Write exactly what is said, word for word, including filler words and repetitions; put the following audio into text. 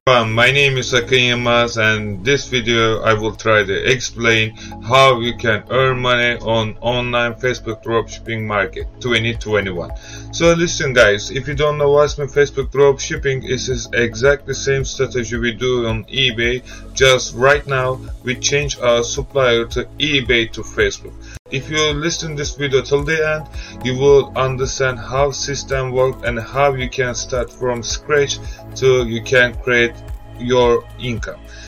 everyone, my name is Akın Yılmaz, and this video I will try to explain how you can earn money on online Facebook dropshipping market twenty twenty-one. So listen guys, if you don't know what's my Facebook dropshipping, it is exactly the same strategy we do on eBay, just right now we change our supplier to eBay to Facebook. If you listen this video till the end, you will understand how system works and how you can start from scratch to you can create your income.